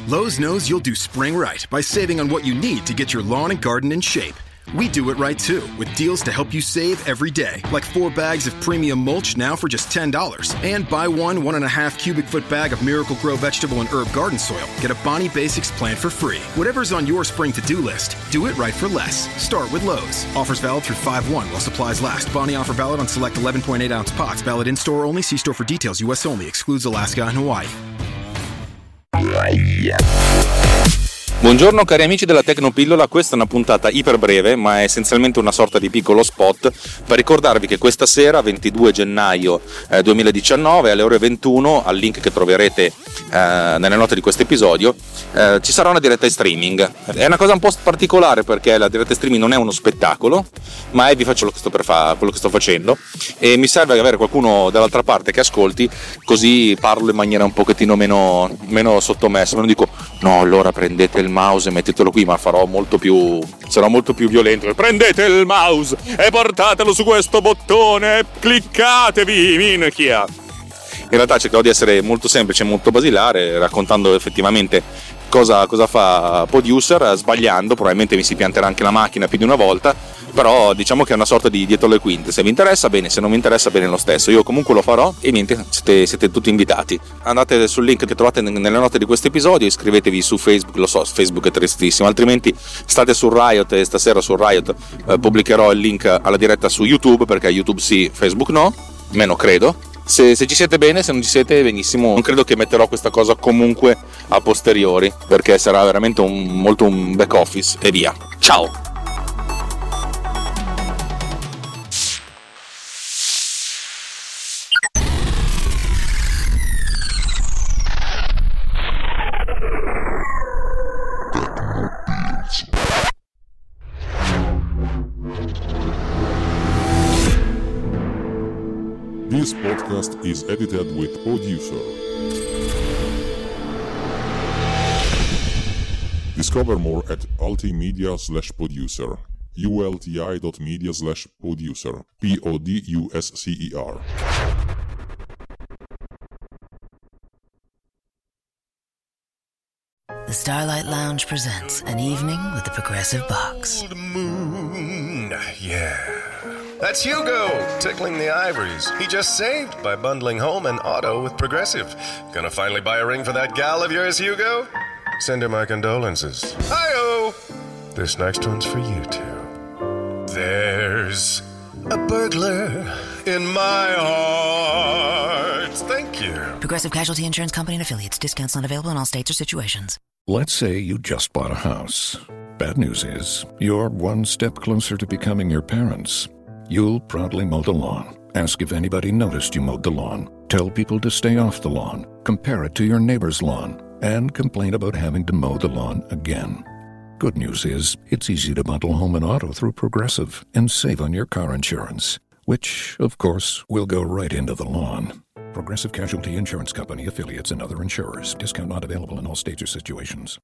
Lowe's knows you'll do spring right by saving on what you need to get your lawn and garden in shape. We do it right too, with deals to help you save every day. Like 4 bags of premium mulch now for just $10. And buy 1.5 cubic foot bag of Miracle-Gro vegetable and herb garden soil. Get a Bonnie Basics plan for free. Whatever's on your spring to-do list, do it right for less. Start with Lowe's. Offers valid through 5/1 while supplies last. Bonnie offer valid on select 11.8-ounce pots. Valid in-store only. See store for details. U.S. only. Excludes Alaska and Hawaii. Buongiorno cari amici della Tecnopillola, questa è una puntata iper breve ma è essenzialmente una sorta di piccolo spot per ricordarvi che questa sera 22 gennaio 2019 alle ore 21 al link che troverete nelle note di questo episodio ci sarà una diretta in streaming. È una cosa un po' particolare perché la diretta in streaming non è uno spettacolo ma vi faccio quello che sto facendo e mi serve avere qualcuno dall'altra parte che ascolti, così parlo in maniera un pochettino meno sottomessa, non dico no allora prendete il mouse e mettetelo qui, ma sarò molto più violento. Prendete il mouse e portatelo su questo bottone e cliccatevi, minchia. In realtà cercherò di essere molto semplice, molto basilare, raccontando effettivamente cosa fa Producer, sbagliando, probabilmente mi si pianterà anche la macchina più di una volta, però diciamo che è una sorta di dietro le quinte. Se vi interessa bene, se non vi interessa bene lo stesso, io comunque lo farò e niente, siete tutti invitati. Andate sul link che trovate nelle note di questo episodio, iscrivetevi su Facebook, lo so, Facebook è tristissimo, altrimenti state su Riot e stasera su Riot pubblicherò il link alla diretta su YouTube, perché YouTube sì, Facebook no, meno credo. Se ci siete bene, se non ci siete benissimo, non credo che metterò questa cosa comunque a posteriori, perché sarà veramente un back office e via. Ciao! This podcast is edited with Producer. Discover more at ultimedia/producer. ulti.media/producer. PODUSCER. The Starlight Lounge presents An Evening with the Progressive Box. Old moon, yeah. That's Hugo, tickling the ivories. He just saved by bundling home and auto with Progressive. Gonna finally buy a ring for that gal of yours, Hugo? Send her my condolences. Hi-oh! This next one's for you two. There's a burglar in my heart. Thank you. Progressive Casualty Insurance Company and Affiliates. Discounts not available in all states or situations. Let's say you just bought a house. Bad news is, you're one step closer to becoming your parents. You'll proudly mow the lawn. Ask if anybody noticed you mowed the lawn. Tell people to stay off the lawn. Compare it to your neighbor's lawn. And complain about having to mow the lawn again. Good news is, it's easy to bundle home and auto through Progressive and save on your car insurance, which, of course, will go right into the lawn. Progressive Casualty Insurance Company, Affiliates, and other insurers. Discount not available in all states or situations.